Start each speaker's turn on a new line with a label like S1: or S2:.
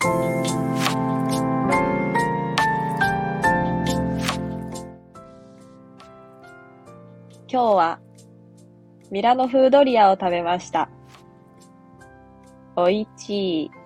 S1: 今日はミラノ風ドリアを食べました。おいちい。